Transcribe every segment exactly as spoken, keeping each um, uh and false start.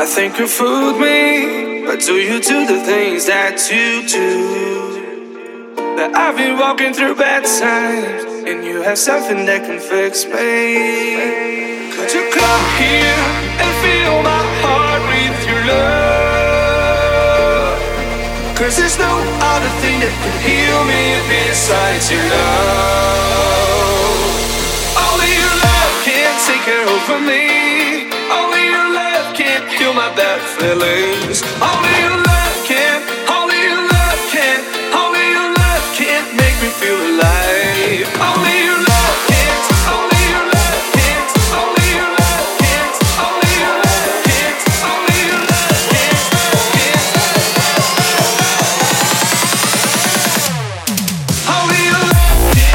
I think you fooled me, but do you do the things that you do? That I've been walking through bad times, and you have something that can fix me. Could you come here and fill my heart with your love? Cause there's no other thing that can heal me besides your love. Only your love can take care over me. Only your love can heal my bad feelings. Only your love can, only your love can, only your love can make me feel alive. Only your love can, only your love can, only your love can, only your love can, only your love can, can. Only your love can,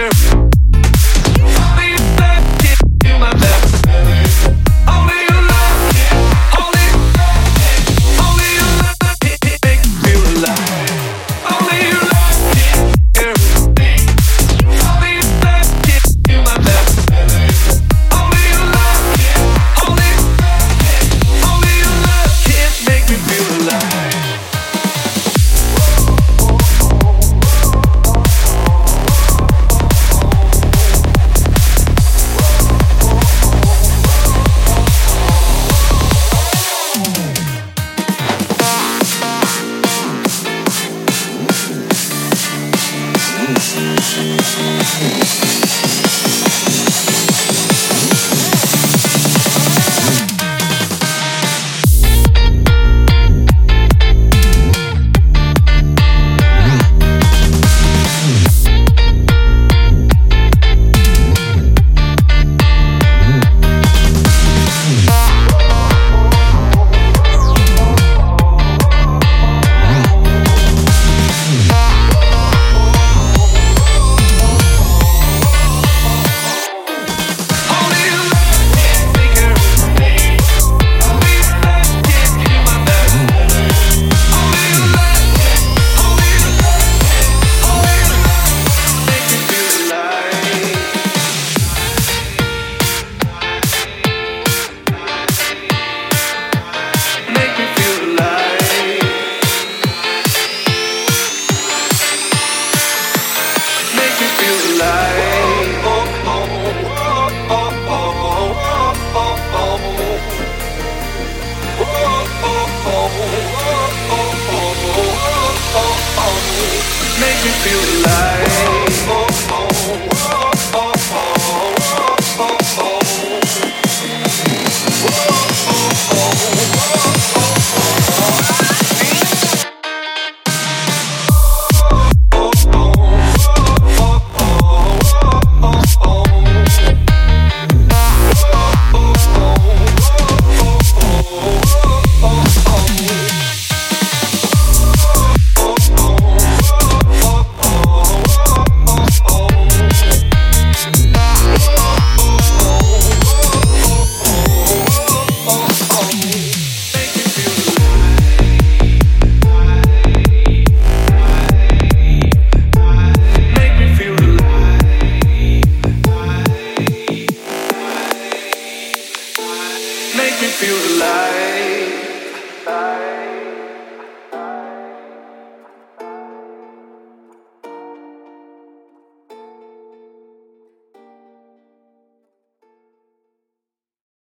only your love can heal my bad feelings. Only your love can, only your love can, only your love can make me feel alive. Only your love can heal me. Only your love can heal my bad feelings. Only your love can, only your love can, only your love can make me feel alive. Only your love can take care of me. Only your love can heal my bad feelings. Only your love can, only your love can, only your love make me feel alive. Make me feel alive. Make me feel alive. Oh, oh, oh, oh, oh, oh, oh, oh. Oh, oh, oh, oh, oh, oh, oh, oh, oh. Make me feel alive.